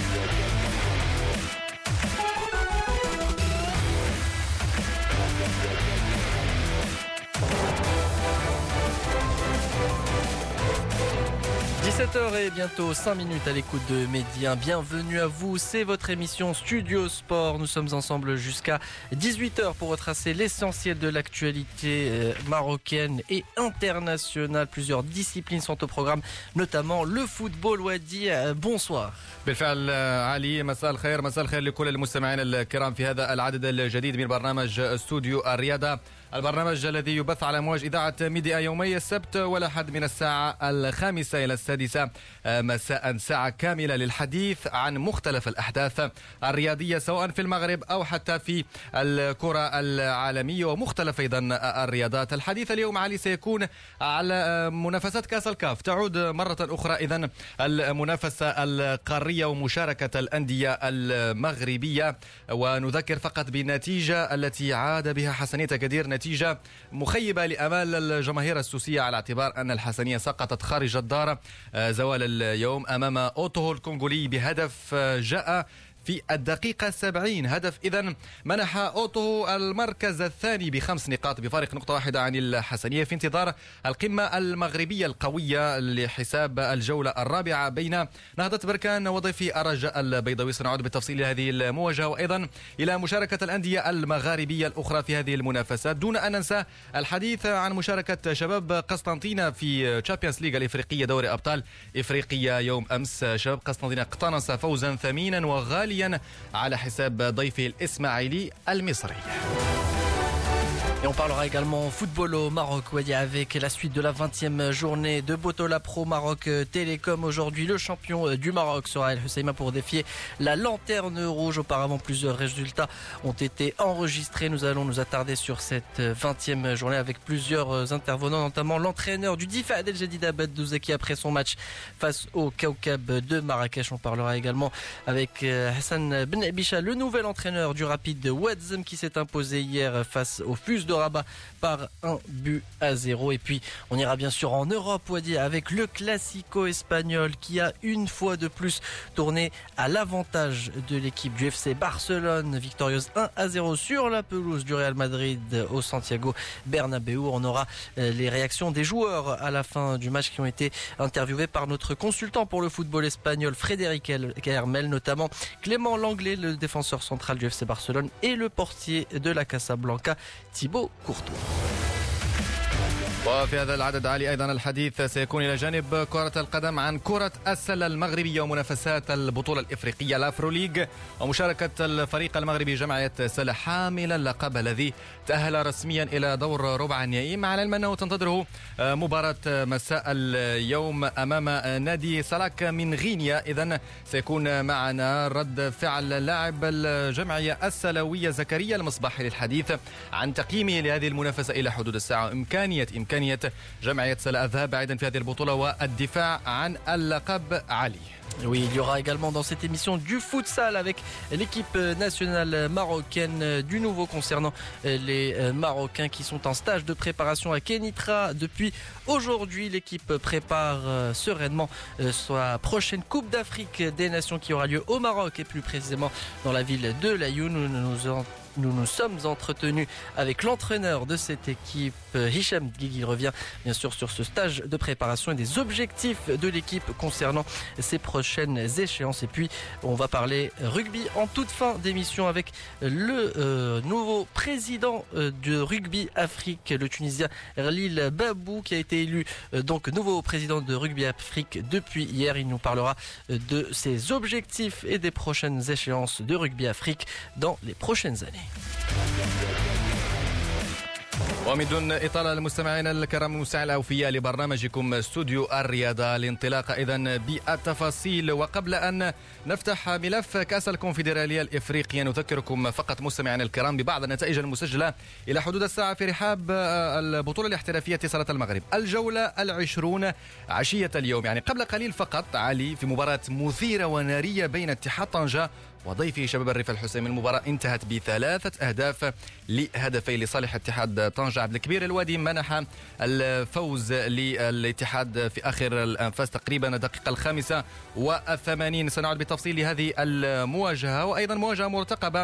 17h et bientôt 5 minutes à l'écoute de Média. Bienvenue à vous, c'est votre émission Studio Sport. Nous sommes ensemble jusqu'à 18h pour retracer l'essentiel de l'actualité marocaine et internationale. Plusieurs disciplines sont au programme, notamment le football. Wadi, bonsoir. بالفعل علي، مساء الخير لكل المستمعين الكرام في هذا العدد الجديد من برنامج استوديو الرياضة، البرنامج الذي يبث على موج إذاعة ميديا يومي السبت والأحد من الساعة 5 إلى 6 مساء، ساعة كاملة للحديث عن مختلف الأحداث الرياضية سواء في المغرب أو حتى في الكرة العالمية ومختلف أيضا الرياضات. الحديث اليوم علي سيكون على منافسات كأس الكاف، تعود مرة أخرى إذن المنافسة القارية ومشاركة الأندية المغربية، ونذكر فقط بالنتيجة التي عاد بها حسنية كدير، نتيجة مخيبة لأمال الجماهير السوسية على اعتبار أن الحسنية سقطت خارج الدار زوال اليوم أمام أوتوهو الكونغولي بهدف جاء في الدقيقة 70. هدف إذن منح أوتو المركز الثاني ب5 نقاط بفارق نقطة واحدة عن الحسنية في انتظار القمة المغربية القوية لحساب الجولة الرابعة بين نهضة بركان وضيفي الرجاء البيضاوي. سنعود بالتفصيل لهذه المواجهة وأيضا إلى مشاركة الأندية المغاربية الأخرى في هذه المنافسات، دون أن ننسى الحديث عن مشاركة شباب قسطنطينة في تشامبيونز ليغ الإفريقية، دوري أبطال إفريقيا يوم أمس. شباب قسطنطينة اقتنص فوزا ثمينا وغاليا على حساب ضيفه الإسماعيلي المصري. Et on parlera également football au Maroc, avec la suite de la 20e journée de Botola Pro Maroc Télécom. Aujourd'hui, le champion du Maroc sera El Husseima pour défier la lanterne rouge. Auparavant, plusieurs résultats ont été enregistrés. Nous allons nous attarder sur cette 20e journée avec plusieurs intervenants, notamment l'entraîneur du DIF Adel Jadid Abed Douzeki après son match face au Kaukab de Marrakech. On parlera également avec Hassan Ben Bisha, le nouvel entraîneur du Rapide Ouazzem qui s'est imposé hier face au Fus de Rabat par 1-0. Et puis on ira bien sûr en Europe, Wadi, avec le Classico espagnol qui a une fois de plus tourné à l'avantage de l'équipe du FC Barcelone, victorieuse 1-0 sur la pelouse du Real Madrid au Santiago Bernabéu. On aura les réactions des joueurs à la fin du match qui ont été interviewés par notre consultant pour le football espagnol Frédéric Hermel, notamment Clément Langlais, le défenseur central du FC Barcelone, et le portier de la Casablanca Thibaut Courtois. وفي هذا العدد علي أيضا الحديث سيكون إلى جانب كرة القدم عن كرة السلة المغربية ومنافسات البطولة الإفريقية الأفروليج ومشاركة الفريق المغربي جمعية سلة حامل اللقب الذي تأهل رسميا إلى دور ربع النهائي، مع العلم أنه تنتظره مباراة مساء اليوم أمام نادي سلاك من غينيا. إذن سيكون معنا رد فعل لاعب الجمعية السلوية زكريا المصباحي للحديث عن تقييمه لهذه المنافسة إلى حدود الساعة وإمكانية جمعية سلا الذهاب بعيدا في هذه البطولة والدفاع عن اللقب. علي. Oui, il y aura également dans cette émission du futsal avec l'équipe nationale marocaine, du nouveau concernant les Marocains qui sont en stage de préparation à Kenitra depuis aujourd'hui. L'équipe prépare sereinement sa prochaine Coupe d'Afrique des Nations qui aura lieu au Maroc et plus précisément dans la ville de Laayoune. Nous nous sommes entretenus avec l'entraîneur de cette équipe, Hicham Guigui. Il revient bien sûr sur ce stage de préparation et des objectifs de l'équipe concernant ses prochaines échéances. Et puis on va parler rugby en toute fin d'émission avec le nouveau président de Rugby Afrique, le Tunisien Erlil Babou, qui a été élu donc nouveau président de Rugby Afrique depuis hier. Il nous parlera de ses objectifs et des prochaines échéances de Rugby Afrique dans les prochaines années. ومن دون إطالة المستمعين الكرام المستمعين الأوفياء لبرنامجكم استوديو الرياضة، الانطلاق إذن بالتفاصيل. وقبل أن نفتح ملف كأس الكونفدرالية الإفريقية نذكركم فقط مستمعين الكرام ببعض النتائج المسجلة إلى حدود الساعة في رحاب البطولة الاحترافية اتصالات المغرب. الجولة 20 عشية اليوم، يعني قبل قليل فقط علي، في مباراة مثيرة ونارية بين اتحاد طنجة وضيفه شباب الريف الحسيمي. المباراة انتهت ب3 أهداف لهدفين لصالح اتحاد طنجة. عبد الكبير الوادي منح الفوز للاتحاد في آخر الأنفاس تقريبا الدقيقة 85. سنعود بالتفصيل لهذه المواجهة، وأيضا مواجهة مرتقبة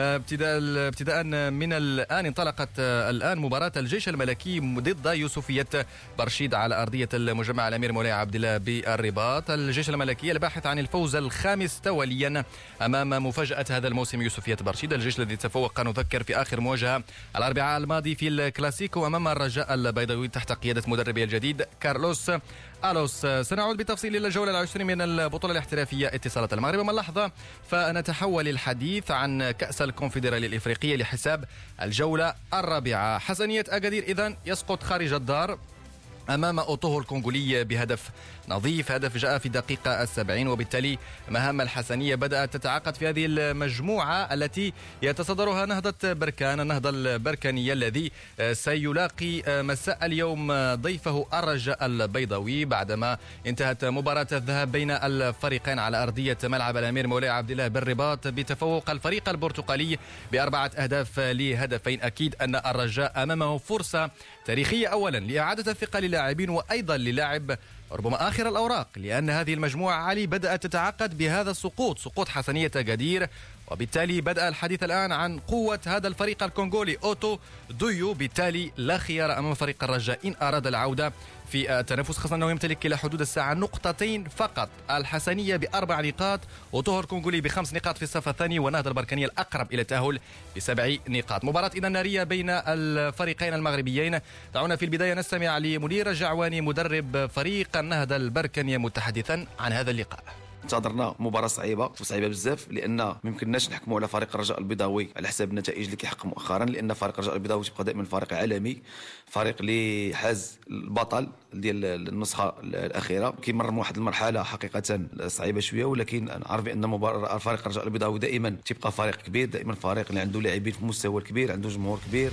ابتداء من الآن. انطلقت الآن مباراة الجيش الملكي ضد يوسفية برشيد على أرضية المجمع الأمير مولاي عبد الله بالرباط. الجيش الملكي الباحث عن الفوز الخامس تواليا أمام مفاجأة هذا الموسم يوسفية برشيد، الجيش الذي تفوق نذكر في آخر مواجهة الأربعاء الماضي في الكلاسيكو أمام الرجاء البيضاوي تحت قيادة مدربه الجديد كارلوس ألوس. سنعود بالتفصيل إلى الجولة 20 من البطولة الاحترافية اتصالات المغرب. أما اللحظة فنتحول الحديث عن كأس الكونفدرالية الإفريقية لحساب الجولة الرابعة. حسنية أكادير إذن يسقط خارج الدار أمام أوتوهو الكونغولي بهدف نظيف، هدف جاء في الدقيقة 70، وبالتالي مهام الحسنية بدأت تتعاقد في هذه المجموعة التي يتصدرها نهضة بركان، النهضة البركانية الذي سيلاقي مساء اليوم ضيفه الرجاء البيضاوي بعدما انتهت مباراة الذهاب بين الفريقين على أرضية ملعب الأمير مولاي عبد الله بالرباط بتفوق الفريق البرتقالي ب4 أهداف لهدفين. أكيد أن الرجاء أمامه فرصة تاريخية أولا لإعادة الثقة للاعبين، وأيضا للاعب ربما آخر الأوراق، لأن هذه المجموعة علي بدأت تتعقد بهذا السقوط، سقوط حسنية أكادير، وبالتالي بدأ الحديث الآن عن قوة هذا الفريق الكونغولي أوتو دويو. بالتالي لا خيار أمام فريق الرجاء إن أراد العودة في التنافس، خاصة أنه يمتلك إلى حدود الساعة نقطتين فقط. الحسنية ب4 نقاط، أوتوهو الكونغولي ب5 نقاط في الصف الثاني، ونهضة البركانية الأقرب إلى التأهل ب7 نقاط. مباراة إذا نارية بين الفريقين المغربيين. دعونا في البداية نستمع لمنير جعواني مدرب فريق النهضة البركانية متحدثا عن هذا اللقاء. انتظرنا مباراة صعيبة بزاف، لأن ما يمكنناش نحكموا على فريق الرجاء البيضاوي على حساب النتائج اللي كيحقق مؤخرا، لأن فريق الرجاء البيضاوي تبقى دائما فريق عالمي، فريق اللي حاز البطل ديال النسخة الأخيرة. كيمر من واحد المرحلة حقيقة صعيبة شوية، ولكن نعرف بأن فريق الرجاء البيضاوي دائما تبقى فريق كبير، دائما فريق اللي عنده لاعبين في مستوى كبير، عنده جمهور كبير.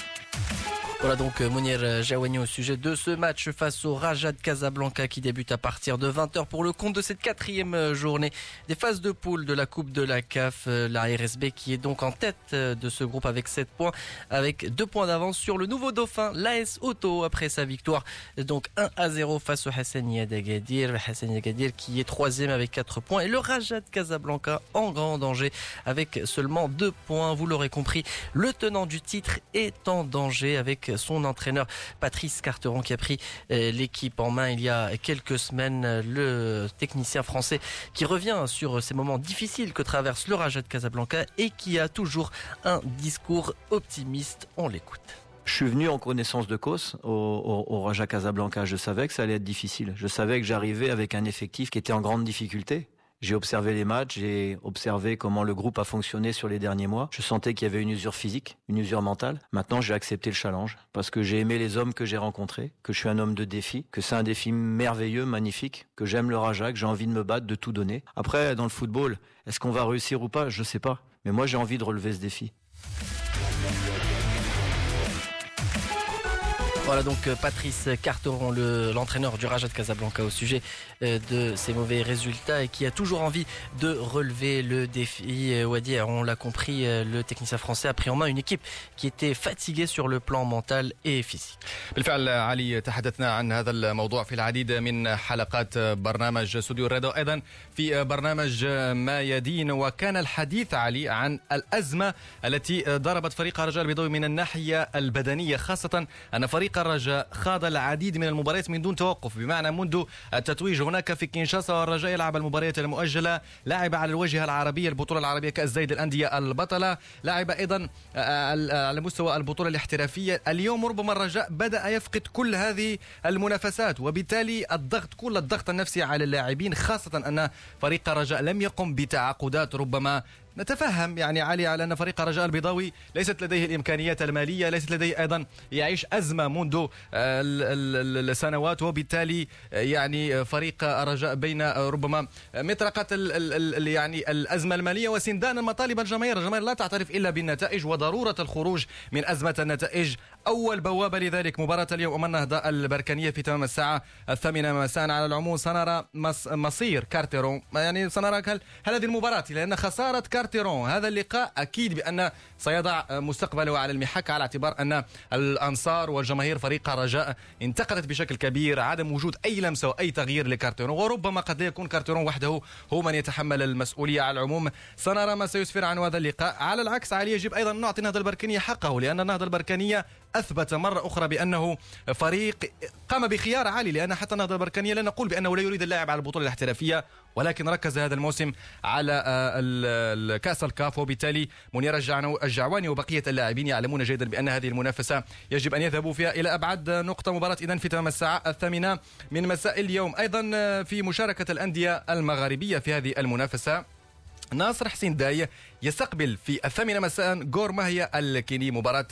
Voilà donc Mounir Jawani au sujet de ce match face au Raja de Casablanca qui débute à partir de 20h pour le compte de cette 4e journée des phases de poule de la Coupe de la CAF. La RSB qui est donc en tête de ce groupe avec 7 points, avec 2 points d'avance sur le nouveau dauphin, l'AS Auto, après sa victoire donc 1-0 face au Hassania d'Agadir. Hassania d'Agadir qui est 3e avec 4 points, et le Raja de Casablanca en grand danger avec seulement 2 points. Vous l'aurez compris, le tenant du titre est en danger avec son entraîneur Patrice Carteron qui a pris l'équipe en main il y a quelques semaines. Le technicien français qui revient sur ces moments difficiles que traverse le Raja de Casablanca et qui a toujours un discours optimiste. On l'écoute. Je suis venu en connaissance de cause au Raja Casablanca. Je savais que ça allait être difficile. Je savais que j'arrivais avec un effectif qui était en grande difficulté. J'ai observé les matchs, j'ai observé comment le groupe a fonctionné sur les derniers mois. Je sentais qu'il y avait une usure physique, une usure mentale. Maintenant, j'ai accepté le challenge parce que j'ai aimé les hommes que j'ai rencontrés, que je suis un homme de défi, que c'est un défi merveilleux, magnifique, que j'aime le Raja, que j'ai envie de me battre, de tout donner. Après, dans le football, est-ce qu'on va réussir ou pas? Je sais pas. Mais moi, j'ai envie de relever ce défi. Voilà donc Patrice Carteron, l'entraîneur du Raja de Casablanca, au sujet de ses mauvais résultats et qui a toujours envie de relever le défi. Wadi, on l'a compris, le technicien français a pris en main une équipe qui était fatiguée sur le plan mental et physique. بالفعل علي تحدثنا عن هذا الموضوع في العديد من حلقات برنامج استوديو الرياضة، أيضا في برنامج ما يدين، وكان الحديث علي عن الأزمة التي ضربت فريق الرجاء البيضاوي من الناحية البدنية، خاصة أن فريق الرجاء خاض العديد من المباريات من دون توقف، بمعنى منذ التتويج هناك في كينشاسا والرجاء يلعب المباريات المؤجلة، لعب على الواجهة العربية البطولة العربية كأس زايد الأندية البطلة، لعب أيضا على مستوى البطولة الاحترافية. اليوم ربما الرجاء بدأ يفقد كل هذه المنافسات، وبالتالي كل الضغط النفسي على اللاعبين، خاصة أن فريق الرجاء لم يقم بتعاقدات ربما نتفهم يعني علي على أن فريق الرجاء البيضاوي ليست لديه الإمكانيات المالية، ليست لديه أيضا يعيش أزمة منذ السنوات، وبالتالي يعني فريق الرجاء بين ربما مطرقة يعني الأزمة المالية وسندان مطالب الجماهير لا تعترف إلا بالنتائج وضرورة الخروج من أزمة النتائج. أول بوابة لذلك مباراة اليوم أمام النهضة البركانية في تمام الساعة 8 مساء. على العموم سنرى مصير كارتيرون، يعني سنرى هل هذه المباراة، لأن خسارة كارتيرون هذا اللقاء أكيد بأن سيضع مستقبله على المحك، على اعتبار أن الأنصار والجماهير فريق الرجاء انتقدت بشكل كبير عدم وجود أي لمسة وأي تغيير لكارتيرون، وربما قد لا يكون كارتيرون وحده هو من يتحمل المسؤولية. على العموم سنرى ما سيسفر عن هذا اللقاء. على العكس علي يجب أيضا نعطي النهضة البركانية حقه، لأن النهضة البركانية أثبت مرة أخرى بأنه فريق قام بخيار عالي، لأن حتى النهضة البركانية لا نقول بأنه لا يريد اللاعب على البطولة الاحترافية، ولكن ركز هذا الموسم على الكأس الكاف، وبالتالي منير الجعواني وبقية اللاعبين يعلمون جيدا بأن هذه المنافسة يجب أن يذهبوا فيها إلى أبعد نقطة. مباراة إذن في تمام الساعة 8 من مساء اليوم. أيضا في مشاركة الأندية المغاربية في هذه المنافسة، ناصر حسين داي يستقبل في 8 مساء غور ماهية الكيني، مباراة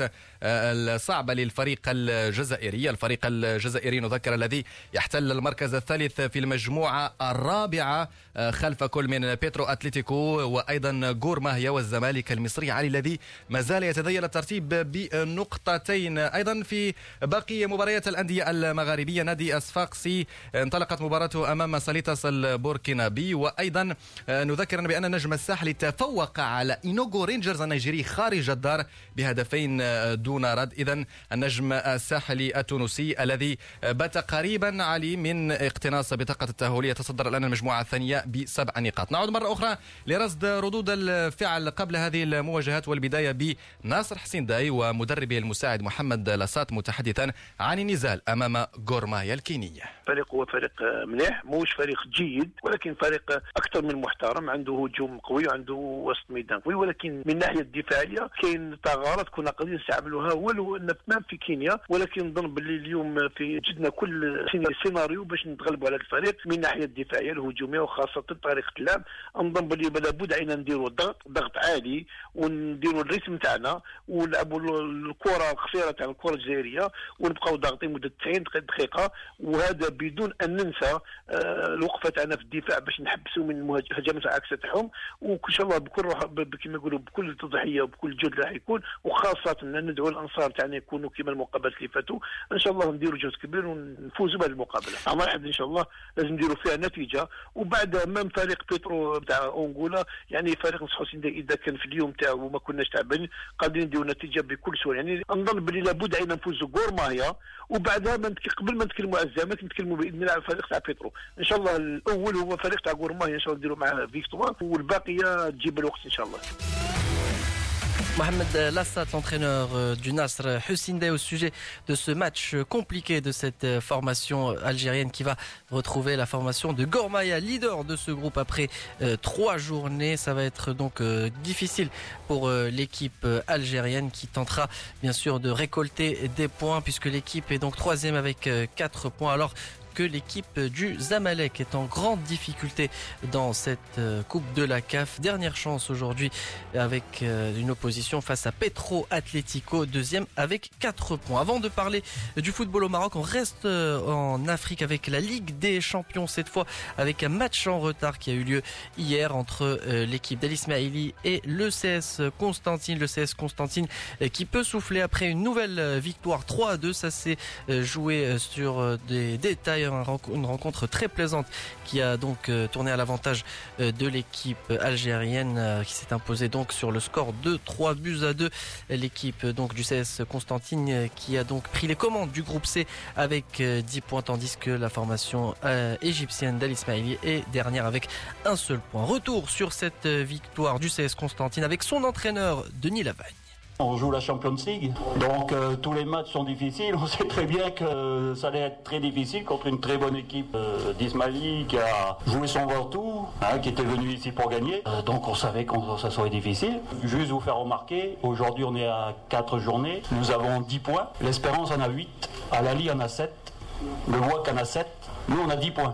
الصعبة للفريق الجزائري. الفريق الجزائري نذكر الذي يحتل المركز الثالث في المجموعة الرابعة خلف كل من بيترو أتلتيكو وأيضا غور ماهية والزمالك المصري علي الذي ما زال يتذيل الترتيب بنقطتين. أيضا في باقي مباريات الأندية المغاربية، نادي الصفاقسي انطلقت مباراته أمام ساليتاس البوركينابي، وأيضا نذكر بأن النجم الساحلي تفوق على إينوغو رينجرز النيجيري خارج الدار بهدفين دون رد. إذن النجم الساحلي التونسي الذي بات قريبا علي من اقتناص بطاقة التأهل يتصدر الآن المجموعة الثانية ب7 نقاط. نعود مرة أخرى لرصد ردود الفعل قبل هذه المواجهات، والبداية بناصر حسين داي ومدربه المساعد محمد لاسات متحدثا عن النزال أمام غور ماهية الكينية. فريق هو فريق مليح، موش فريق جيد، ولكن فريق أكثر من محترم، عنده هجوم قوي وعنده وسط ميدان قوي، ولكن من الناحية الدفاعية كاين ثغرات كنا قادرين نستعملوها ولو ان في كينيا، ولكن نظن باللي اليوم في جدنا كل سيناريو باش نتغلبوا على الفريق من الناحية الدفاعية الهجومية وخاصة طريقة اللعب. نظن باللي لابد علينا نديروا ضغط عالي ونديروا الريتم تاعنا ونلعبوا الكرة القصيرة تاع الكرة الجزائرية ونبقاو ضاغطين مدة 90 دقيقة، وهذا بدون ان ننسى الوقفة تاعنا في الدفاع باش نحبسوا من هجمات العكس تاعهم، وان شاء الله بكل روح كما يقولوا بكل تضحيه وبكل جهد راح يكون، وخاصه ان ندعو الانصار تاعنا يكونوا كما المقابلات اللي فاتوا. ان شاء الله نديروا جهد كبير ونفوزوا بهذه المقابله. عام واحد ان شاء الله لازم نديروا فيها نتيجه. وبعد امام فريق بيترو تاع اونغولا، يعني فريق نصحوا اذا كان في اليوم تاعو وما كناش تعبانين قادرين نديروا نتيجه بكل سهوله. يعني نظن باللي لابد علينا نفوزوا غور ماهيا، وبعدها قبل ما نتكلموا على الزمالك نتكلموا باذن الله على الفريق تاع بيترو. ان شاء الله الاول هو فريق تاع غور ماهيا، ان شاء الله نديروا معاه فيكتوار والباقيه تجيب الوقت ان شاء الله. Mohamed Lassat, l'entraîneur du Nasr, Hussein Day, au sujet de ce match compliqué de cette formation algérienne qui va retrouver la formation de Gor Mahia, leader de ce groupe après 3 journées. Ça va être donc difficile pour l'équipe algérienne qui tentera bien sûr de récolter des points puisque l'équipe est donc 3e avec 4 points. Alors que l'équipe du Zamalek est en grande difficulté dans cette Coupe de la CAF. Dernière chance aujourd'hui avec une opposition face à Petro Atlético, 2e avec 4 points. Avant de parler du football au Maroc, on reste en Afrique avec la Ligue des Champions, cette fois avec un match en retard qui a eu lieu hier entre l'équipe d'Al Ismaili et le CS Constantine. Le CS Constantine qui peut souffler après une nouvelle victoire 3-2. Ça s'est joué sur des détails, une rencontre très plaisante qui a donc tourné à l'avantage de l'équipe algérienne qui s'est imposée donc sur le score de 3-2. L'équipe donc du CS Constantine qui a donc pris les commandes du groupe C avec 10 points, tandis que la formation égyptienne d'Al Ismaili est dernière avec un seul point. Retour sur cette victoire du CS Constantine avec son entraîneur Denis Lavagne. On joue la Champions League, donc tous les matchs sont difficiles. On sait très bien que ça allait être très difficile contre une très bonne équipe d'Ismaili qui a joué son Ventoux, qui était venu ici pour gagner. Donc on savait que ça serait difficile. Juste vous faire remarquer, aujourd'hui on est à 4 journées, nous avons 10 points. L'Espérance en a 8, Al Ahly en a 7, le WAC en a 7, nous on a 10 points.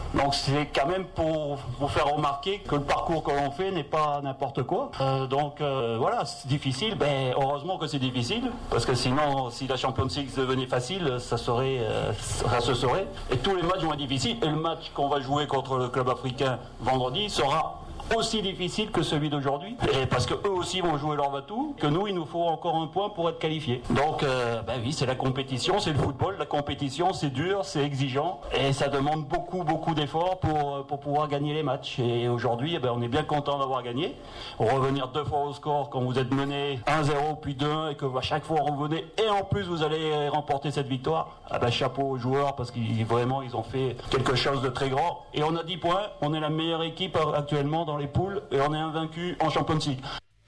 Donc c'est quand même pour vous faire remarquer que le parcours que l'on fait n'est pas n'importe quoi. Voilà, c'est difficile. Heureusement que c'est difficile, parce que sinon, si la Champions League devenait facile, ça se saurait. Et tous les matchs vont être difficiles. Et le match qu'on va jouer contre le club africain vendredi sera aussi difficile que celui d'aujourd'hui, et parce que eux aussi vont jouer leur va-tout, que nous il nous faut encore un point pour être qualifiés. Donc oui, c'est la compétition, c'est le football, la compétition c'est dur, c'est exigeant et ça demande beaucoup d'efforts pour pouvoir gagner les matchs. Et aujourd'hui on est bien content d'avoir gagné. Revenir 2 fois au score quand vous êtes mené 1-0 puis 2-1 et que à chaque fois revenez et en plus vous allez remporter cette victoire, chapeau aux joueurs, parce qu'ils vraiment ils ont fait quelque chose de très grand. Et on a 10 points, on est la meilleure équipe actuellement dans les poules et on est invaincu en Champions League.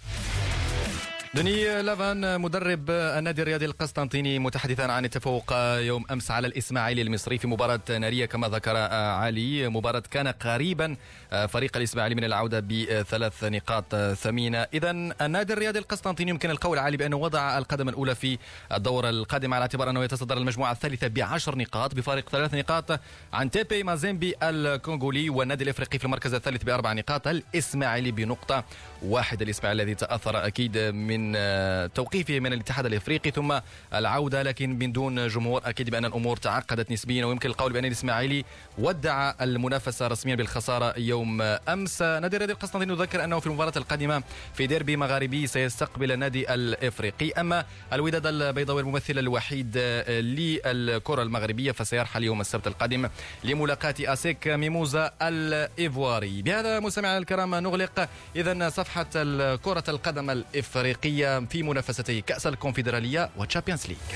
دوني لافان مدرب النادي الرياضي القسطنطيني متحدثا عن التفوق يوم أمس على الإسماعيلي المصري في مباراة نارية كما ذكر علي. مباراة كان قريبا فريق الإسماعيلي من العودة ب3 نقاط ثمينة. إذا النادي الرياضي القسطنطيني يمكن القول علي بأنه وضع القدم الأولى في الدورة القادمة على اعتبار أنه يتصدر المجموعة الثالثة ب10 نقاط بفارق 3 نقاط عن تيبي مازيمبي الكونغولي، والنادي الإفريقي في المركز الثالث ب4 نقاط، الإسماعيلي بنقطة واحدة. الإسماعيلي الذي تأثر أكيد من توقيفه من الاتحاد الافريقي ثم العوده لكن من دون جمهور، اكيد بان الامور تعقدت نسبيا، ويمكن القول بان الاسماعيلي ودع المنافسه رسميا بالخساره يوم امس. نادي الرياضي القسطنطيني يذكر انه في المباراه القادمه في ديربي مغاربي سيستقبل النادي الافريقي. اما الوداد البيضاوي الممثل الوحيد للكره المغربيه فسيرحل يوم السبت القادم لملاقاه اسيك ميموزا الايفواري. بهذا مستمعينا الكرام نغلق اذا صفحه كره القدم الافريقيه في منافستي كأس الكونفدرالية وتشامبيونز ليج.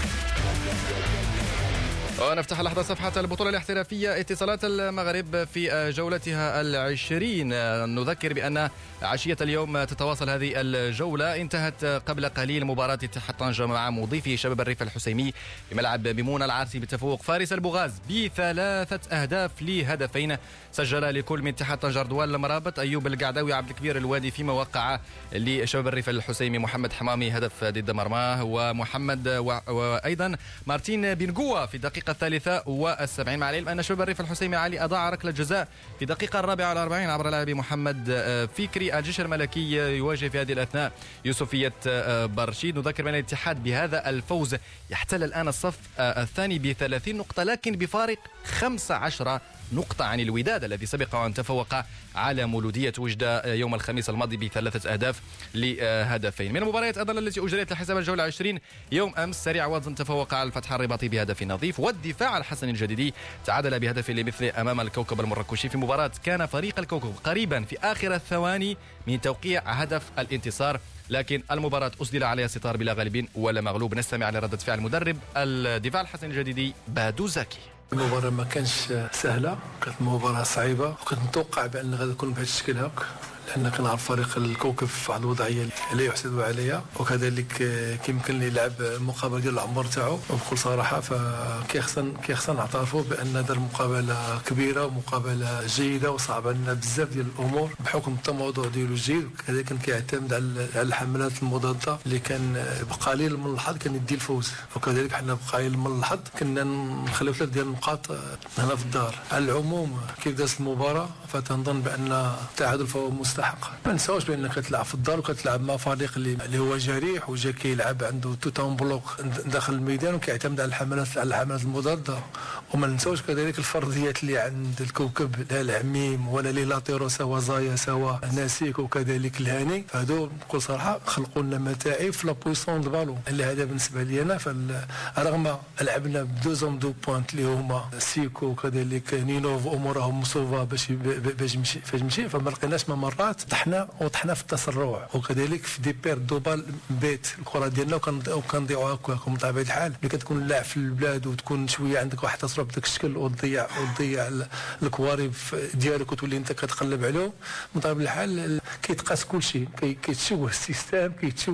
ونفتح لحظة صفحة البطولة الاحترافية. اتصالات المغرب في جولتها 20 نذكر بأن عشية اليوم تتواصل هذه الجولة. انتهت قبل قليل مباراة اتحاد طنجة مع مضيفه شباب الريف الحسيمي بملعب ميمونة العارسي بتفوق فارس البغاز ب3 أهداف ل2. سجل لكل من اتحاد طنجة رضوان المرابط، أيوب القعداوي، عبد الكبير الوادي، فيما وقع لشباب الريف الحسيمي محمد حمامي هدف ضد مرماه، ومحمد وأيضا مارتين بنقوة في الدقيقة 73. مع العلم أن شباب الريف الحسيمي علي أضاع ركلة جزاء في الدقيقة 44 عبر لاعب محمد فكري. الجيش الملكي يواجه في هذه الأثناء يوسفية برشيد. نذكر بأن الاتحاد بهذا الفوز يحتل الآن الصف الثاني ب30 نقطة لكن بفارق 15 نقطة عن الوداد الذي سبق أن تفوق على مولودية وجدة يوم الخميس الماضي ب3 أهداف ل2. من المباريات أيضا التي أجريت لحساب الجولة 20 يوم أمس سريع وزن تفوق على الفتح الرباطي بهدف نظيف، والدفاع الحسن الجديدي تعادل بهدف لمثل أمام الكوكب المركشي في مباراة كان فريق الكوكب قريبا في آخر الثواني من توقيع هدف الانتصار، لكن المباراة أسدل عليها ستار بلا غالب ولا مغلوب. نستمع لردة فعل مدرب الدفاع الحسن الجديدي بادو زكي. المباراة ما كانش سهلة، كانت مباراة صعيبة، وكنت متوقع بأن غادي تكون بهذا الشكل هاك، لأن كنعرف فريق الكوكب في واحد الوضعية لا يحسد عليها، وكذلك كيمكن لي يلعب المقابلة ديال العمر تاعو. وبكل صراحة فكيخصنا نعترفوا بأن هذه المقابلة كبيرة ومقابلة جيدة وصعبة لنا بزاف ديال الأمور بحكم التموضع ديالو الجيد، وكذلك كيعتمد على الحملات المضادة اللي كان بقليل من الحظ كان يدي الفوز، وكذلك حنا بقليل من الحظ كنا نخليو 3 ديال النقاط هنا في الدار. على العموم كيف دازت المباراة فتنظن بأن التعادل فهو مستحق. ما نساوش بانك كتلعب في الدار وكتلعب مع فريق اللي هو جريح وجا كيلعب عنده توتان بلوك داخل الميدان وكيعتمد على الحملات المضاده. وما نساوش كذلك الفرديات اللي عند الكوكب، لا العميم ولا لي لاتيرو سوا زايا سوا ناسيك وكذلك الهاني، هادو بكل صراحه خلقوا لنا متاعب في لابويسون دو بالون. اللي هذا بالنسبه لي انا رغم لعبنا بدوزوم دو بوينت اللي هما سيكو وكذلك نينوف امورهم مصوبه باش يمشي فما لقيناش ممرات طحنا في التسرع، وكذلك في دي بير دوبال بيت الكره ديالنا وكنضيعوها هكاك. من طبيعه الحال ملي كتكون لاعب في البلاد وتكون شويه عندك واحد التصرف بداك الشكل وتضيع الكواري ديالك وتولي انت كتقلب عليهم، من طبيعه الحال كيتقاس كل شيء، كيتشوه السيستم،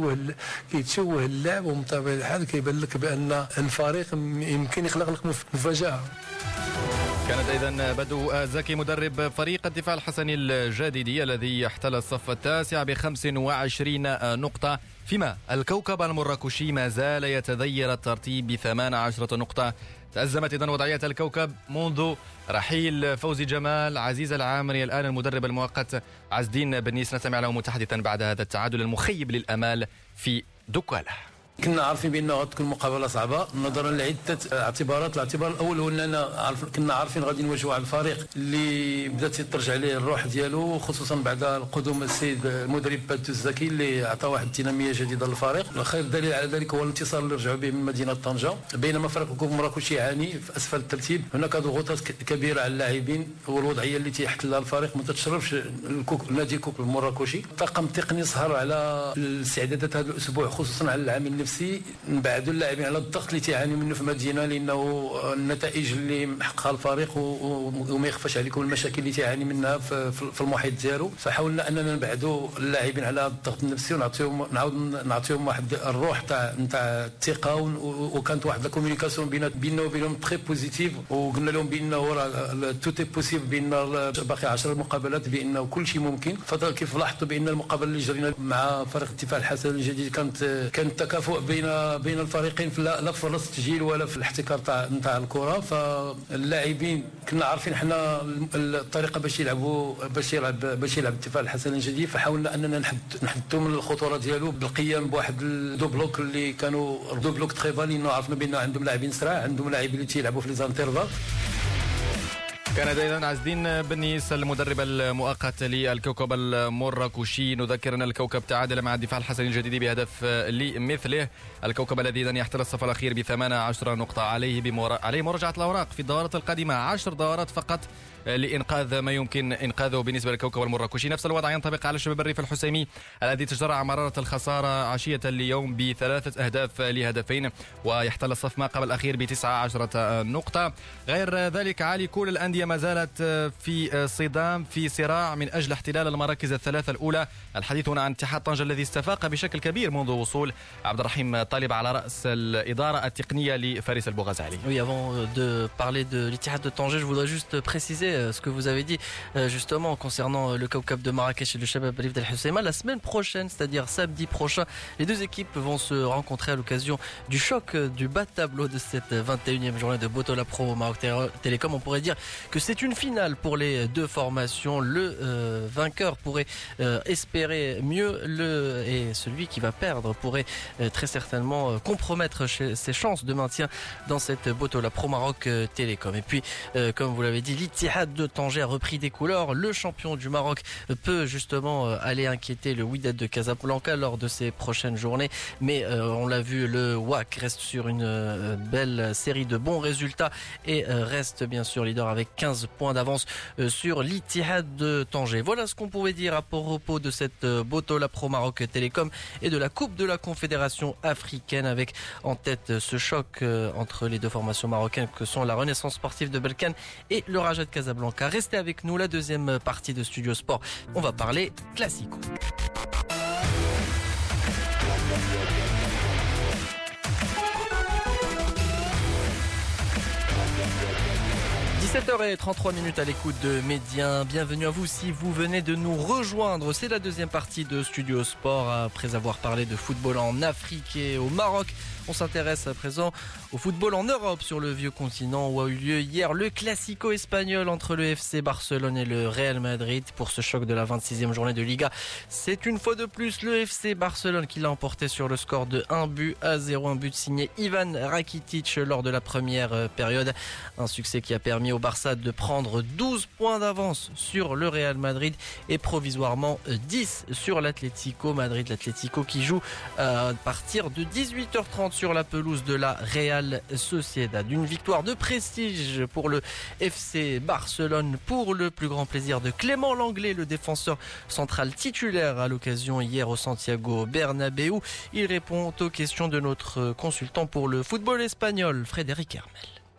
كيتشوه اللعب، ومن طبيعه الحال كيبان لك بان الفريق يمكن يخلق لك مفاجاه. كانت إذن بدو زكي مدرب فريق الدفاع الحسني الجديدي الذي احتل الصف التاسع ب25 نقطة، فيما الكوكب المراكشي ما زال يتذير الترتيب ب18 نقطة. تأزمت إذن وضعية الكوكب منذ رحيل فوزي جمال. عزيز العامري الآن المدرب المؤقت عز الدين بنيس نستمع له متحدثا بعد هذا التعادل المخيب للأمال في دكالة. كنا عارفين بأنه غتكون مقابلة صعبة نظرا لعدة اعتبارات. الاعتبار الأول هو أننا كنا عارفين غادي نواجهوا على الفريق اللي بدات ترجع عليه الروح ديالو، خصوصا بعد قدوم السيد المدرب بدو الزكي اللي عطى واحد الدينامية جديدة للفريق. خير دليل على ذلك هو الانتصار اللي رجعوا به من مدينة طنجة، بينما فريق الكوكب المراكشي يعاني في أسفل الترتيب. هناك ضغوطات كبيرة على اللاعبين والوضعية اللي تيحتلها الفريق ما تتشرفش نادي الكوكب المراكشي. الطاقم التقني سهر على الاستعدادات هذا الأسبوع، خصوصا على العامل النفسي، نبعدوا اللاعبين على الضغط اللي تيعانيوا منه في المدينه، لانه النتائج اللي محققها الفريق وما يخفاش عليكم المشاكل اللي تيعاني منها في المحيط ديالو. فحاولنا اننا نبعدوا اللاعبين على الضغط النفسي ونعطيهم واحد الروح نتاع الثقه، وكانت واحد الكوميونيكاسيون بيننا وبينهم تري بوزيتيف، وقلنا لهم بانه راه توتي بوسيبل، بان باقي 10 مقابلات، بانه كل شيء ممكن. فكيف لاحظتوا بان المقابله اللي جرينا مع فريق الدفاع الحسني الجديد كانت تكافؤ بين الفريقين لا في التسجيل ولا في الاحتكار نتاع الكره. فاللاعبين كنا عارفين حنا الطريقه باش يلعب الدفاع الحسني الجديد، فحاولنا اننا نحدوا من الخطوره ديالو بالقيام بواحد الدو بلوك اللي كانوا دو بلوك تري بال، لانه عرفنا بان عندهم لاعبين سرعه، عندهم لاعبين اللي تيلعبوا في لي زانترفال. كان إذن عز الدين بنيس المدرب المؤقت للكوكب المراكشي. نذكر أن الكوكب تعادل مع الدفاع الحسني الجديد بهدف لمثله. الكوكب الذي إذن يحتل الصف الأخير ب18 نقطة، عليه مراجعة الأوراق في الدورات القادمة، 10 دورات فقط لإنقاذ ما يمكن إنقاذه بالنسبة للكوكب المراكشي. نفس الوضع ينطبق على الشباب الريف الحسيمي الذي تجرع مرارة الخسارة عشية اليوم ب3 أهداف لهدفين، ويحتل الصف ما قبل الأخير ب19 نقطة. غير ذلك علي كل الأندية ما زالت في صدام، في صراع من أجل احتلال المراكز الثلاثة الأولى. الحديث هنا عن اتحاد طنجة الذي استفاق بشكل كبير منذ وصول عبد الرحيم طالب على رأس الإدارة التقنية لفارس البوغزالي. Oui, avant de parler de l'Ittihad de Tanger, je voudrais juste préciser ce que vous avez dit justement concernant le Kawkab de Marrakech et le Shabab Rif d'Al Hoceima. La semaine prochaine, c'est-à-dire samedi prochain, les deux équipes vont se rencontrer à l'occasion du choc du bas de tableau de cette 21e journée de Botola Pro au Maroc Télécom. On pourrait dire que c'est une finale pour les deux formations. Le vainqueur pourrait espérer mieux et celui qui va perdre pourrait très certainement compromettre ses chances de maintien dans cette Botola Pro Maroc Télécom. Et puis, comme vous l'avez dit, l'Ittihad de Tanger a repris des couleurs. Le champion du Maroc peut justement aller inquiéter le Wydad de Casablanca lors de ces prochaines journées. Mais on l'a vu, le WAC reste sur une belle série de bons résultats et reste bien sûr leader avec 15 points d'avance sur l'Ittihad de Tanger. Voilà ce qu'on pouvait dire à propos de cette Botola Pro Maroc Télécom et de la Coupe de la Confédération africaine, avec en tête ce choc entre les deux formations marocaines que sont la Renaissance sportive de Berkane et le Raja de Casablanca. Restez avec nous, la deuxième partie de Studio Sport. On va parler classico. – 17h33 à l'écoute de Médien. Bienvenue à vous si vous venez de nous rejoindre. C'est la deuxième partie de Studio Sport. Après avoir parlé de football en Afrique et au Maroc, on s'intéresse à présent au football en Europe, sur le vieux continent, où a eu lieu hier le Classico espagnol entre le FC Barcelone et le Real Madrid pour ce choc de la 26e journée de Liga. C'est une fois de plus le FC Barcelone qui l'a emporté sur le score de 1-0, un but signé Ivan Rakitic lors de la première période. Un succès qui a permis au Barça de prendre 12 points d'avance sur le Real Madrid et provisoirement 10 sur l'Atlético Madrid. L'Atlético qui joue à partir de 18h30 sur la pelouse de la Real Sociedad. Une victoire de prestige pour le FC Barcelone, pour le plus grand plaisir de Clément Langlais, le défenseur central titulaire à l'occasion hier au Santiago Bernabéu. Il répond aux questions de notre consultant pour le football espagnol, Frédéric Hermel.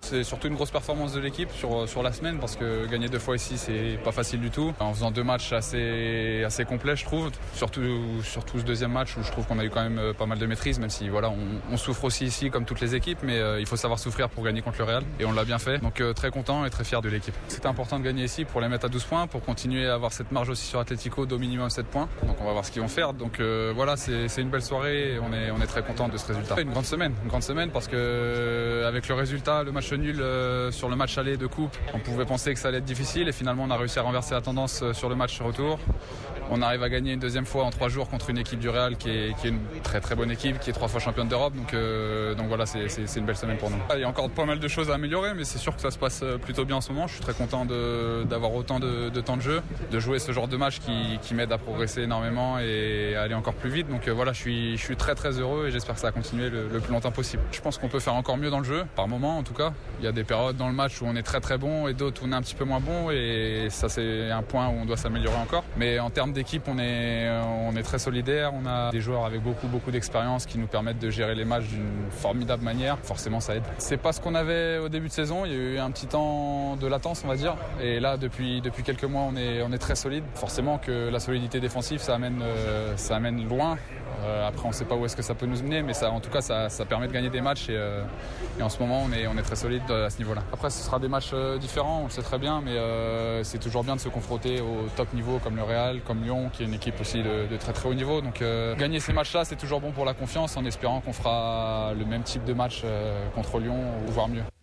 C'est surtout une grosse performance de l'équipe sur la semaine parce que gagner 2 fois ici c'est pas facile du tout. En faisant 2 matchs assez complets je trouve, surtout ce deuxième match où je trouve qu'on a eu quand même pas mal de maîtrise, même si voilà on souffre aussi ici comme toutes les équipes, mais il faut savoir souffrir pour gagner contre le Real et on l'a bien fait. Donc très content et très fier de l'équipe. C'était important de gagner ici pour les mettre à 12 points, pour continuer à avoir cette marge aussi sur Atlético d'au minimum 7 points. Donc on va voir ce qu'ils vont faire. Donc voilà, c'est une belle soirée et on est très content de ce résultat. Une grande semaine parce que avec le résultat, le match nul sur le match aller de coupe, on pouvait penser que ça allait être difficile et finalement on a réussi à renverser la tendance sur le match retour. On arrive à gagner une deuxième fois en 3 jours contre une équipe du Real qui est une très très bonne équipe, qui est 3 fois championne d'Europe. Donc voilà, c'est une belle semaine pour nous. Il y a encore pas mal de choses à améliorer, mais c'est sûr que ça se passe plutôt bien en ce moment. Je suis très content d'avoir autant de temps de jeu, de jouer ce genre de match qui m'aide à progresser énormément et à aller encore plus vite. Donc voilà, je suis très très heureux et j'espère que ça va continuer le plus longtemps possible. Je pense qu'on peut faire encore mieux dans le jeu, par moment en tout cas. Il y a des périodes dans le match où on est très très bon et d'autres où on est un petit peu moins bon et ça c'est un point où on doit s'améliorer encore. Mais en termes d'équipe, on est très solidaire. On a des joueurs avec beaucoup d'expérience qui nous permettent de gérer les matchs d'une formidable manière. Forcément, ça aide. C'est pas ce qu'on avait au début de saison. Il y a eu un petit temps de latence, on va dire. Et là, depuis quelques mois, on est très solide. Forcément que la solidité défensive, ça amène loin. Après, on ne sait pas où est-ce que ça peut nous mener, mais en tout cas, ça permet de gagner des matchs et en ce moment, on est très solide à ce niveau-là. Après, ce sera des matchs différents, on le sait très bien, mais c'est toujours bien de se confronter au top niveau comme le Real, comme Lyon, qui est une équipe aussi de très très haut niveau. Donc, gagner ces matchs-là, c'est toujours bon pour la confiance, en espérant qu'on fera le même type de match contre Lyon, ou voire mieux.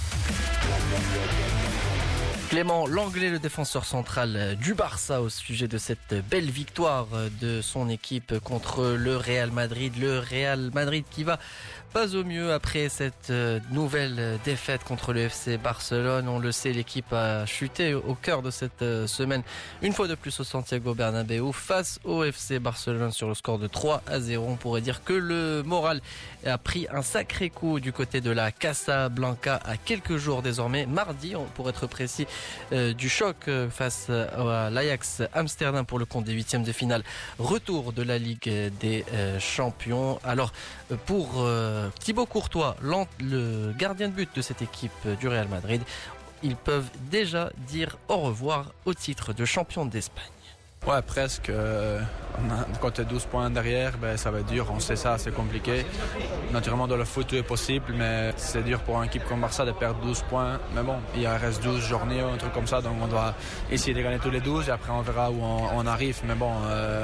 Clément Lenglet, le défenseur central du Barça, au sujet de cette belle victoire de son équipe contre le Real Madrid. Le Real Madrid qui va pas au mieux après cette nouvelle défaite contre le FC Barcelone. On le sait, l'équipe a chuté au cœur de cette semaine, une fois de plus au Santiago Bernabéu, face au FC Barcelone sur le score de 3-0. On pourrait dire que le moral a pris un sacré coup du côté de la Casablanca à quelques jours désormais, mardi pour être précis, du choc face à l'Ajax Amsterdam pour le compte des 8e de finale, retour de la Ligue des Champions. Alors pour Thibaut Courtois, le gardien de but de cette équipe du Real Madrid, ils peuvent déjà dire au revoir au titre de champion d'Espagne. Ouais, presque. Quand tu es 12 points derrière, ça va être dur. On sait ça, c'est compliqué. Naturellement, dans le foot, tout est possible, mais c'est dur pour une équipe comme Barça de perdre 12 points. Mais bon, il reste 12 journées, un truc comme ça, donc on doit essayer de gagner tous les 12 et après on verra où on arrive. Mais bon,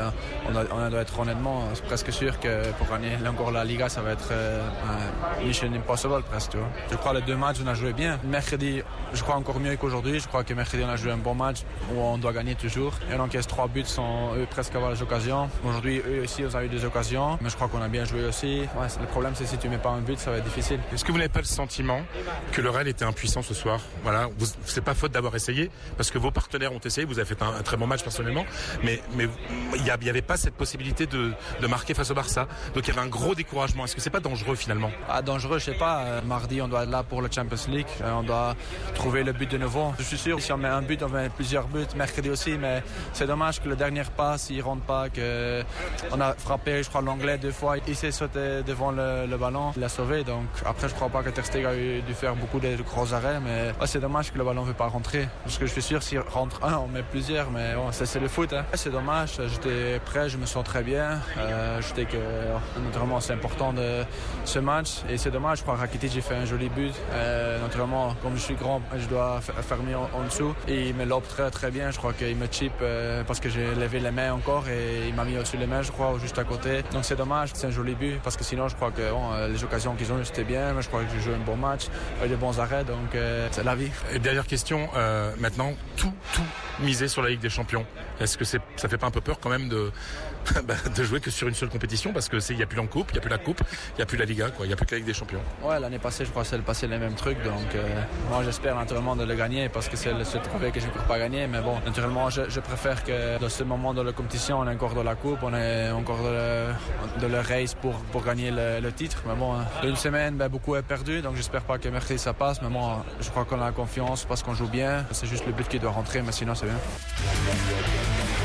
on doit être honnêtement presque sûr que pour gagner encore la Liga, ça va être mission impossible presque. Tu vois. Je crois que les 2 matchs, on a joué bien. Mercredi, je crois encore mieux qu'aujourd'hui. Je crois que mercredi, on a joué un bon match où on doit gagner toujours. Et on encaisse 3 buts sans eux presque avoir les occasions. Aujourd'hui, eux aussi, ils ont eu des occasions, mais je crois qu'on a bien joué aussi. Ouais, le problème, c'est si tu mets pas un but, ça va être difficile. Est-ce que vous n'avez pas le sentiment que le Real était impuissant ce soir? Voilà, c'est pas faute d'avoir essayé, parce que vos partenaires ont essayé, vous avez fait un très bon match personnellement, mais il n'y avait pas cette possibilité de marquer face au Barça. Donc il y avait un gros découragement. Est-ce que c'est pas dangereux finalement? Dangereux, je sais pas. Mardi, on doit être là pour le Champions League. On doit trouver le but de nouveau. Je suis sûr, si on met un but, on met plusieurs buts. Mercredi aussi, mais c'est dommage que le dernier passe, il rentre pas, que on a frappé, je crois, l'Anglais 2 fois. Il s'est sauté devant le ballon, il l'a sauvé. Donc après, je crois pas que Ter Stegen a dû faire beaucoup de gros arrêts, mais c'est dommage que le ballon ne veut pas rentrer. Parce que je suis sûr, s'il rentre un, on met plusieurs, mais bon, c'est le foot. Hein. C'est dommage, j'étais prêt, je me sens très bien. Je sais que naturellement, c'est important de ce match. Et c'est dommage, je crois que Rakitic, j'ai fait un joli but. Naturellement, comme je suis grand, je dois faire mieux en dessous. Et il me lobe très très bien, je crois qu'il me chip parce que j'ai levé les mains encore et il m'a mis au-dessus les mains, je crois, juste à côté. Donc c'est dommage, c'est un joli but parce que sinon je crois que les occasions qu'ils ont eu c'était bien, mais je crois que j'ai joué un bon match, avec des bons arrêts, donc c'est la vie. Et dernière question, maintenant, tout miser sur la Ligue des Champions. Est-ce que ça fait pas un peu peur quand même de jouer que sur une seule compétition, parce que il y a plus la coupe, il y a plus la coupe, il y a plus la Liga, quoi, il y a plus que la Ligue des Champions. Ouais, l'année passée, je crois que c'est passé les mêmes trucs, donc moi j'espère naturellement de le gagner parce que c'est le seul trophée que je ne peux pas gagner, mais bon, naturellement je préfère que dans ce moment de la compétition, on est encore dans la coupe, on est encore dans le race pour gagner le titre, mais bon, une semaine, beaucoup est perdu, donc j'espère pas que mercredi ça passe, mais bon, je crois qu'on a confiance parce qu'on joue bien, c'est juste le but qui doit rentrer, mais sinon c'est bien.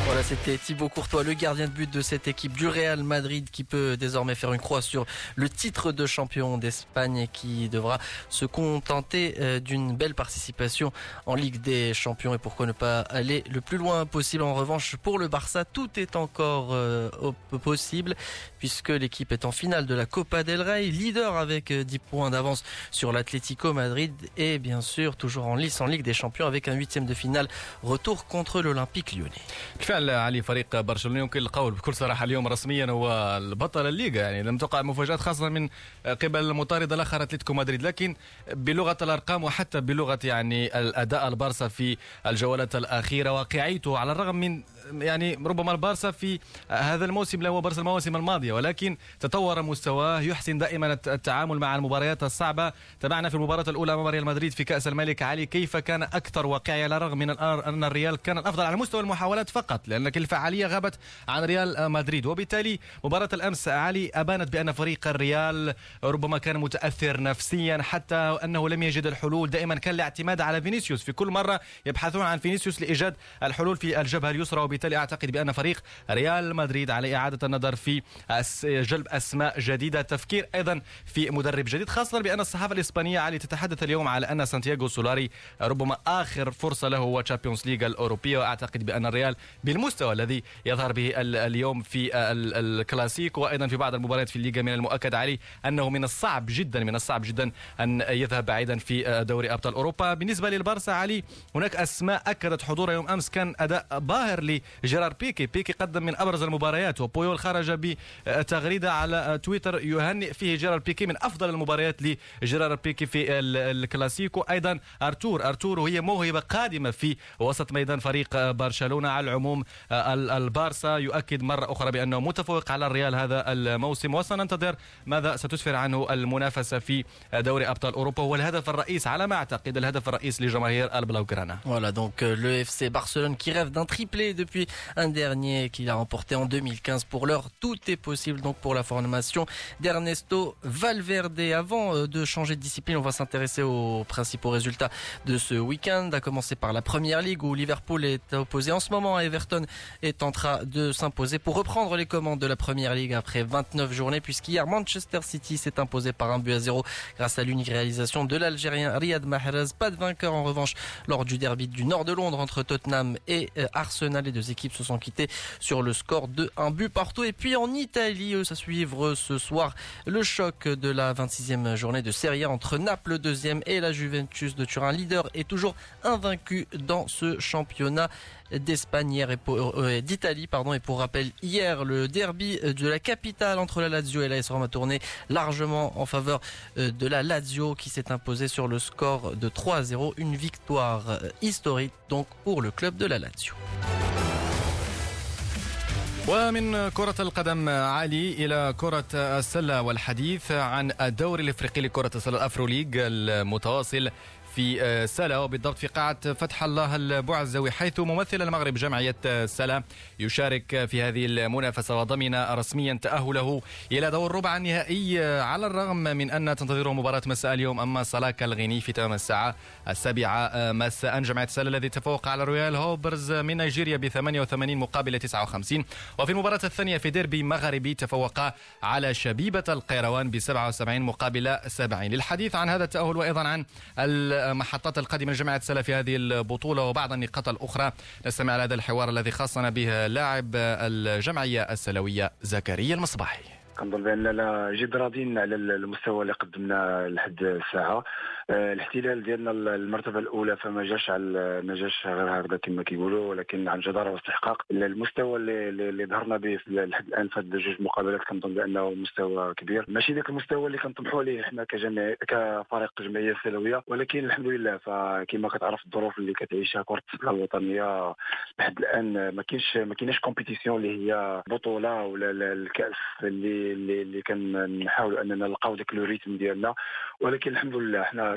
Voilà, c'était Thibaut Courtois, le gardien de but de cette équipe du Real Madrid qui peut désormais faire une croix sur le titre de champion d'Espagne et qui devra se contenter d'une belle participation en Ligue des Champions et pourquoi ne pas aller le plus loin possible. En revanche, pour le Barça, tout est encore possible puisque l'équipe est en finale de la Copa del Rey, leader avec 10 points d'avance sur l'Atlético Madrid et bien sûr toujours en lice en Ligue des Champions avec un 8e de finale retour contre l'Olympique Lyonnais. بالفعل علي فريق برشلونة يمكن القول بكل صراحة اليوم رسميا هو البطل الليغا، يعني لم تقع مفاجآت خاصة من قبل المطارد الآخر أتلتيكو مدريد، لكن بلغة الأرقام وحتى بلغة يعني الأداء البارسا في الجولات الأخيرة واقعيته على الرغم من يعني ربما البارسا في هذا الموسم لا هو بارسا المواسم الماضية، ولكن تطور مستواه، يحسن دائما التعامل مع المباريات الصعبة. تابعنا في المباراة الأولى أمام ريال مدريد في كأس الملك علي كيف كان أكثر واقعية على الرغم من أن الريال كان الأفضل على مستوى المحاولات فقط لأن الفعالية غابت عن ريال مدريد. وبالتالي مباراة الأمس علي أبانت بأن فريق الريال ربما كان متأثر نفسيا حتى أنه لم يجد الحلول، دائما كان الاعتماد على فينيسيوس، في كل مرة يبحثون عن فينيسيوس لإيجاد الحلول في الجبهة اليسرى. وبالتالي أعتقد بأن فريق ريال مدريد على إعادة النظر في جلب أسماء جديدة، تفكير أيضا في مدرب جديد، خاصة بأن الصحافة الإسبانية علي تتحدث اليوم على أن سانتياغو سولاري ربما آخر فرصة له هو تشامبيونز ليغ الأوروبية. وأعتقد بأن الريال بالمستوى الذي يظهر به اليوم في الكلاسيكو وأيضا في بعض المباريات في الليغا من المؤكد علي أنه من الصعب جدا أن يذهب بعيدا في دوري أبطال أوروبا. بالنسبة للبارسا علي هناك أسماء أكدت حضورها يوم أمس، كان أداء باهر لجيرار بيكي قدم من أبرز المباريات، وبويول خرج بتغريدة على تويتر يهنئ فيه جيرار بيكي من أفضل المباريات لجيرار بيكي في الكلاسيكو. أيضا أرتور وهي موهبة قادمة في وسط ميدان فريق برشلونة. على العموم البارسا يؤكد مرة أخرى بأنه متفوق على الريال هذا الموسم، وسننتظر ماذا ستسفر عنه المنافسة في دوري أبطال أوروبا، هو الهدف الرئيس على ما أعتقد الهدف الرئيس لجماهير البلاوغرانا. Voilà donc le FC Barcelone qui rêve d'un triplé depuis un dernier qu'il a remporté en 2015. Pour l'heure, tout est possible donc pour la formation d'Ernesto Valverde. Avant de changer de discipline, on va s'intéresser aux principaux résultats de ce week-end, à commencer par la Première Ligue où Liverpool est opposé en ce moment à Everton, est en train de s'imposer pour reprendre les commandes de la Première Ligue après 29 journées, puisqu'hier Manchester City s'est imposé par 1-0 grâce à l'unique réalisation de l'Algérien Riyad Mahrez. Pas de vainqueur en revanche lors du derby du nord de Londres entre Tottenham et Arsenal. Les deux équipes se sont quittées sur le score de 1-1. Et puis en Italie, ça suivre ce soir le choc de la 26e journée de Serie A entre Naples 2e et la Juventus de Turin, leader et toujours invaincu dans ce championnat d'Espagne d'Italie. Et pour rappel, hier le derby de la capitale entre la Lazio et l'AS Roma a tourné largement en faveur de la Lazio qui s'est imposée sur le score de 3-0, une victoire historique donc pour le club de la Lazio. ومن كرة القدم علي إلى كرة السلة والحديث عن الدوري الإفريقي لكرة السلة الأفرو ليج المتواصل في سلا وبالضبط في قاعة فتح الله البعزوي، حيث ممثل المغرب جمعية سلا يشارك في هذه المنافسة وضمن رسميا تأهله إلى دور ربع النهائي، على الرغم من أن تنتظره مباراة مساء اليوم أما صلاك الغيني في تمام الساعة 7 مساء. جمعية سلا الذي تفوق على رويال هوبرز من نيجيريا ب 88 مقابل 59، وفي المباراة الثانية في ديربي مغربي تفوق على شبيبة القيروان ب 77 مقابل 70. للحديث عن هذا التأهل وأيضا عن المحطات القادمة لجماعة سلا في هذه البطولة وبعض النقاط الأخرى نستمع على هذا الحوار الذي خاصنا به لاعب الجمعية السلوية زكريا المصباحي. كنظن باننا جد راضين على المستوى اللي قدمنا لحد الساعه. الاحتلال ديالنا المرتبه الاولى فما جاش غير هكذا كما كيقولوا، ولكن عن جداره واستحقاق. المستوى اللي ظهرنا به لحد الان في هذه جوج مقابلات كنظن بانه مستوى كبير، ماشي ذاك المستوى اللي كنطمحوا ليه حنا كفريق جمعيه سلويه، ولكن الحمد لله فكما كتعرف الظروف اللي كتعيشها كره السله الوطنيه لحد الان ما كايناش كومبيتيسيون اللي هي بطوله ولا الكاس اللي كنحاولوا اننا نلقاو داك لو ريتم ديالنا، ولكن الحمد لله حنا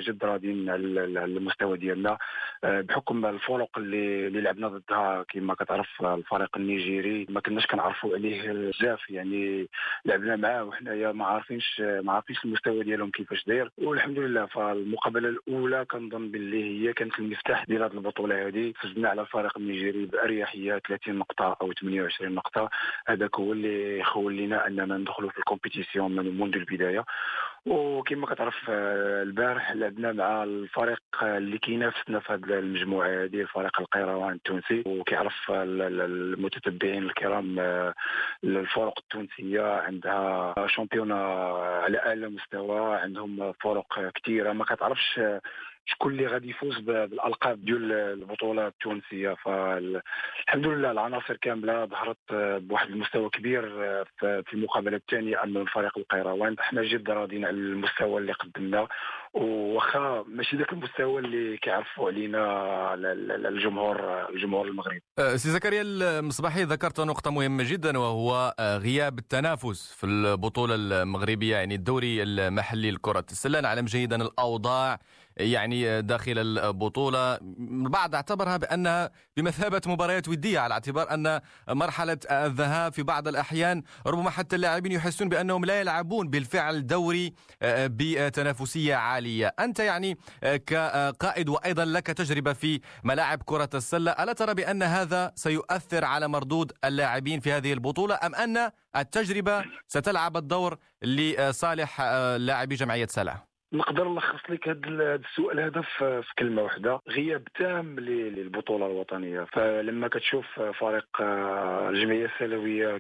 جد راضيين على المستوى ديالنا بحكم الفرق اللي لعبنا ضدها. كما كتعرف الفريق النيجيري ما كناش كنعرفوا عليه بزاف، يعني لعبنا معاه وحنايا ما عارفينش المستوى ديالهم كيفاش داير. والحمد لله فالمقابله الاولى كنظن باللي هي كانت المفتاح ديال هذه البطوله هذه. فزنا على الفريق النيجيري باريحيه 30 نقطه او 28 نقطه. هذاك هو اللي خول لنا اننا ندخلوا في الكومبيتيسيون منذ البدايه. وكما كتعرف البارح لعبنا مع الفريق اللي كينافسنا في هذه المجموعه هذه، الفريق القيروان التونسي. وكيعرف المتتبعين الكرام الفرق التونسيه عندها شامبيونا على اعلى مستوى، عندهم فرق كثيره ما كتعرفش شكون اللي غادي يفوز بالالقاب ديال البطوله التونسيه. فالحمد لله العناصر كامله ظهرت بواحد المستوى كبير في المقابله الثانيه امام الفريق القيروان. احنا جد راضيين على المستوى اللي قدمناه، وخا ماشي ذاك المستوى اللي كيعرفوا علينا الجمهور المغربي. سي زكريا المصباحي ذكرت نقطه مهمه جدا، وهو غياب التنافس في البطوله المغربيه، يعني الدوري المحلي لكره السله. نعلم جيدا الاوضاع يعني داخل البطولة، البعض اعتبرها بأنها بمثابة مباريات ودية، على اعتبار أن مرحلة الذهاب في بعض الأحيان ربما حتى اللاعبين يحسون بأنهم لا يلعبون بالفعل دوري بتنافسية عالية. أنت يعني كقائد وأيضا لك تجربة في ملاعب كرة السلة، ألا ترى بأن هذا سيؤثر على مردود اللاعبين في هذه البطولة، أم أن التجربة ستلعب الدور لصالح لاعبي جمعية سلا؟ نقدر نلخص لك هذا السؤال هذا في كلمه واحده: غياب تام للبطوله الوطنيه. فلما كتشوف فريق الجمعيه السلويه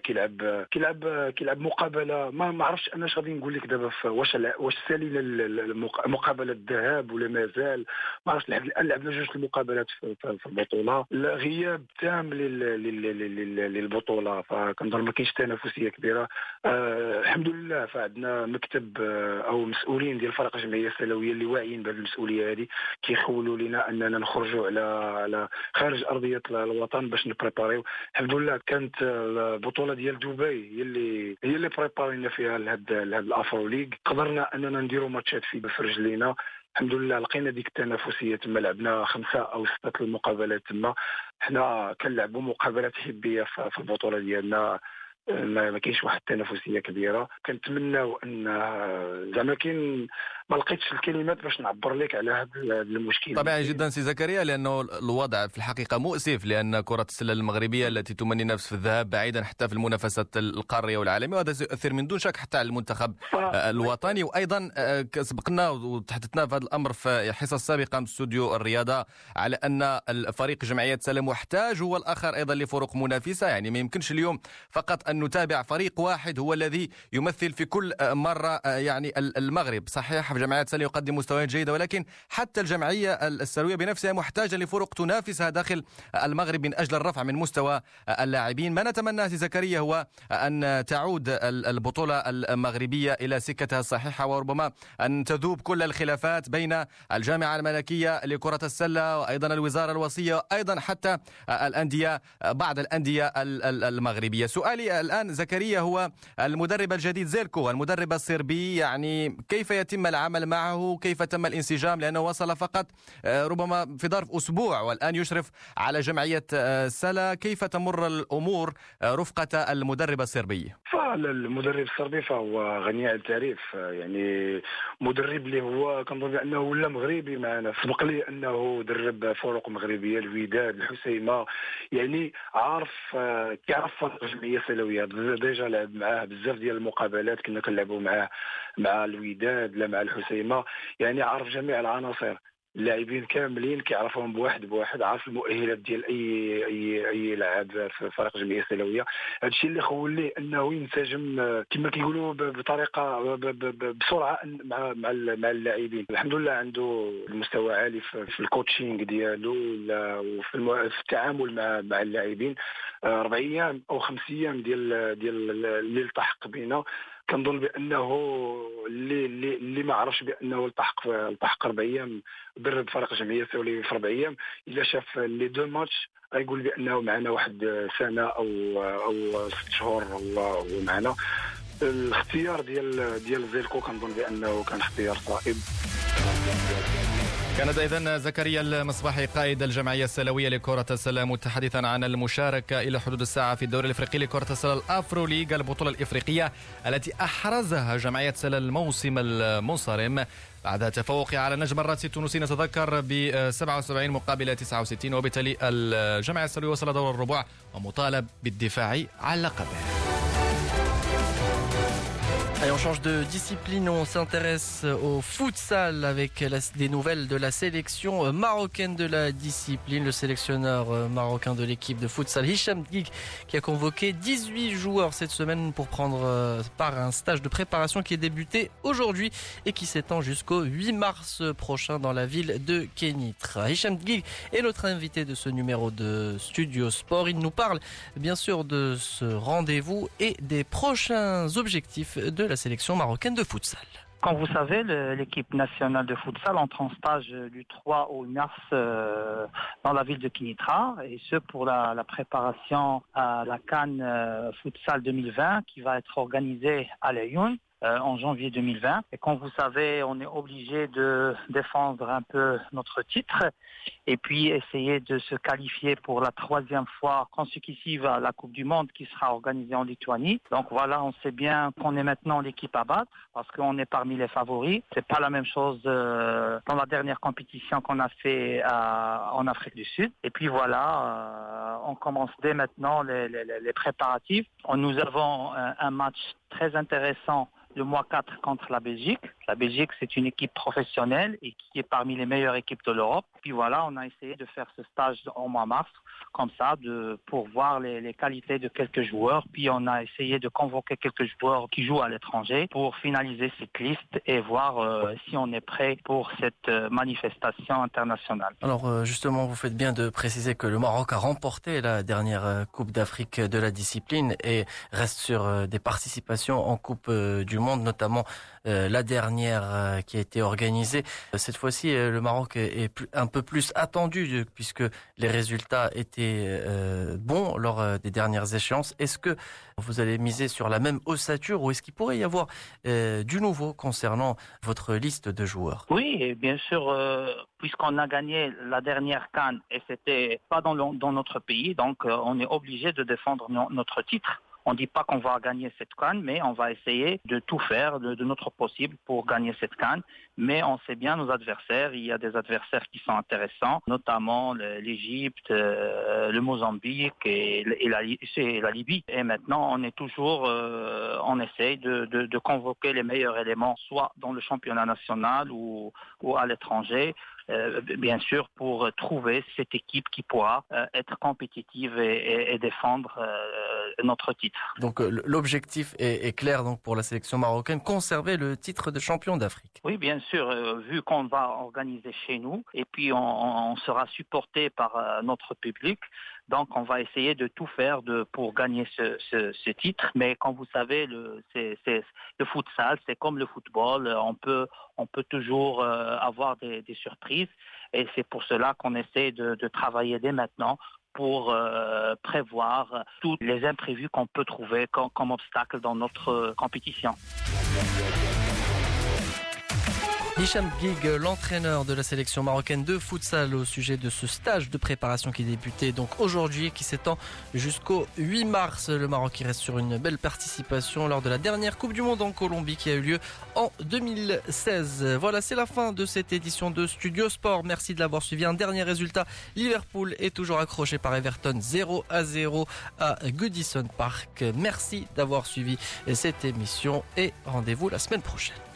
كيلعب مقابله، ما عرفتش انا غادي نقول لك دابا واش سالينا مقابله الذهاب ولا مازال، ما عرفتش. لعبنا جوج المقابلات في البطوله. غياب تام للبطوله، فكنظن ما كاينش تنافسيه كبيره. الحمد لله فعندنا مكتب او مسؤولين ديال الفريق الجمعيه السلويه اللي واعيين بهذه المسؤوليه هذه، كيخولوا لنا اننا نخرجوا على خارج ارضيه الوطن باش نبريباريو. الحمد لله كانت البطوله ديال دبي هي اللي بريبارينا فيها لهذا الافرو ليغ. قدرنا اننا نديروا ماتشات في رجلينا. الحمد لله لقينا ديك التنافسيه تما، لعبنا 5 أو 6 المقابلات تما. حنا كنلعبوا مقابلات حبيه في البطوله ديالنا، ما كاينش واحد التنافسيه كبيره. كنتمناو ان زعما ما لقيتش الكلمات باش نعبر لك على هذا المشكل. طبيعي جدا سي زكريا، لانه الوضع في الحقيقه مؤسف، لان كره السله المغربيه التي تمني نفس في الذهاب بعيدا حتى في المنافسات القاريه والعالميه، وهذا سيؤثر من دون شك حتى على المنتخب الوطني. وايضا سبقنا وتحدثنا في هذا الامر في حصص سابقه من استوديو الرياضه على ان الفريق جمعيه سله محتاج هو الاخر ايضا لفرق منافسه. يعني ما يمكنش اليوم فقط ان نتابع فريق واحد هو الذي يمثل في كل مره يعني المغرب. صحيح جمعية سلة يقدم مستويات جيدة، ولكن حتى الجمعية السلوية بنفسها محتاجة لفرق تنافسها داخل المغرب من أجل الرفع من مستوى اللاعبين. ما نتمنى سي زكريا هو أن تعود البطولة المغربية إلى سكتها الصحيحة، وربما أن تذوب كل الخلافات بين الجامعة الملكية لكرة السلة وأيضا الوزارة الوصية وأيضا حتى الأندية، بعض الأندية المغربية. سؤالي الآن زكريا هو المدرب الجديد زيلكو، المدرب الصربي، يعني كيف يتم العمل معه؟ كيف تم الانسجام؟ لأنه وصل فقط ربما في ظرف أسبوع والآن يشرف على جمعية سلا. كيف تمر الأمور رفقة المدرب الصربي؟ فالمدرب الصربي فهو غني عن التعريف، يعني مدرب اللي هو كنظن بأنه ولا مغربي معنا. سبق لي أنه درب فرق مغربية، الوداد، الحسيمة، يعني كيعرف الجمعية السلوية. ديجا لعب معاه بزاف ديال المقابلات، كنا كنلعبوا معاه مع الوداد لا مع الحسيمة، يعني عارف جميع العناصر. اللاعبين كاملين كيعرفهم بواحد، عارف المؤهلات ديال اي لاعب في فريق الجمعيه السلويه. هذا الشيء اللي خول ليه انه ينسجم كما كيقولوا بطريقه بسرعه مع اللاعبين. الحمد لله عنده المستوى عالي في الكوتشينغ ديالو وفي التعامل مع اللاعبين. 4 أيام أو 5 أيام ديال اللي التحق بينا، كنظن بانه اللي ما عرفش بانه التحق 4 أيام درب فريق الجمعيه السلويه في 4 أيام، الا شاف لي 2 ماتش غيقول بانه معنا واحد سنه او 6 شهور ومعنا. الاختيار ديال زيلكو كنظن بانه كان اختيار صائب. كان إذن زكريا المصباحي قائد الجمعية السلوية لكرة السلة متحدثا عن المشاركة إلى حدود الساعة في الدوري الإفريقي لكرة السلة الأفرو ليغا، البطولة الإفريقية التي أحرزها جمعية سلة الموسم المنصرم بعد تفوقها على النجم الراسي التونسي نتذكر ب 77 مقابل 69، وبالتالي الجمعية السلوية وصل دور الربع ومطالب بالدفاع عن لقبه. Allez, on change de discipline, on s'intéresse au futsal avec des nouvelles de la sélection marocaine de la discipline. Le sélectionneur marocain de l'équipe de futsal, Hicham Guig, qui a convoqué 18 joueurs cette semaine pour prendre part à un stage de préparation qui est débuté aujourd'hui et qui s'étend jusqu'au 8 mars prochain dans la ville de Kénitra. Hicham Guig est notre invité de ce numéro de Studio Sport. Il nous parle bien sûr de ce rendez-vous et des prochains objectifs de la sélection marocaine de futsal. Comme vous savez, l'équipe nationale de futsal entre en stage du 3 au 8 mars dans la ville de Kénitra, et ce pour la préparation à la CAN Futsal 2020 qui va être organisée à Lyon en janvier 2020. Et comme vous savez, on est obligé de défendre un peu notre titre et puis essayer de se qualifier pour la 3e fois consécutive à la Coupe du Monde qui sera organisée en Lituanie. Donc voilà, on sait bien qu'on est maintenant l'équipe à battre parce qu'on est parmi les favoris. C'est pas la même chose dans la dernière compétition qu'on a fait en Afrique du Sud. Et puis voilà, on commence dès maintenant les préparatifs. Nous avons un match très intéressant le mois 4 contre la Belgique. La Belgique, c'est une équipe professionnelle et qui est parmi les meilleures équipes de l'Europe. Puis voilà, on a essayé de faire ce stage au mois mars, comme ça, pour voir les qualités de quelques joueurs. Puis on a essayé de convoquer quelques joueurs qui jouent à l'étranger pour finaliser cette liste et voir si on est prêt pour cette manifestation internationale. Alors justement, vous faites bien de préciser que le Maroc a remporté la dernière Coupe d'Afrique de la discipline et reste sur des participations en Coupe du Monde, notamment la dernière qui a été organisée. Cette fois-ci, le Maroc est un peu plus attendu puisque les résultats étaient bons lors des dernières échéances. Est-ce que vous allez miser sur la même ossature ou est-ce qu'il pourrait y avoir du nouveau concernant votre liste de joueurs? Oui, et bien sûr, puisqu'on a gagné la dernière CAN et c'était pas dans notre pays, donc on est obligé de défendre notre titre. On ne dit pas qu'on va gagner cette CAN, mais on va essayer de tout faire de notre possible pour gagner cette CAN. Mais on sait bien nos adversaires. Il y a des adversaires qui sont intéressants, notamment l'Égypte, le Mozambique et la Libye. Et maintenant, on est toujours, on essaye de convoquer les meilleurs éléments, soit dans le championnat national ou à l'étranger. Bien sûr, pour trouver cette équipe qui pourra être compétitive et défendre notre titre. Donc l'objectif est clair donc pour la sélection marocaine, conserver le titre de champion d'Afrique. Oui, bien sûr, vu qu'on va organiser chez nous et puis on sera supporté par notre public. Donc, on va essayer de tout faire pour gagner ce titre. Mais comme vous savez, le futsal, c'est comme le football. On peut toujours avoir des surprises. Et c'est pour cela qu'on essaie de travailler dès maintenant pour prévoir tous les imprévus qu'on peut trouver comme obstacle dans notre compétition. Hicham Guig, l'entraîneur de la sélection marocaine de futsal, au sujet de ce stage de préparation qui débutait donc aujourd'hui et qui s'étend jusqu'au 8 mars. Le Maroc qui reste sur une belle participation lors de la dernière Coupe du Monde en Colombie qui a eu lieu en 2016. Voilà, c'est la fin de cette édition de Studio Sport. Merci de l'avoir suivi. Un dernier résultat, Liverpool est toujours accroché par Everton 0-0 à Goodison Park. Merci d'avoir suivi cette émission et rendez-vous la semaine prochaine.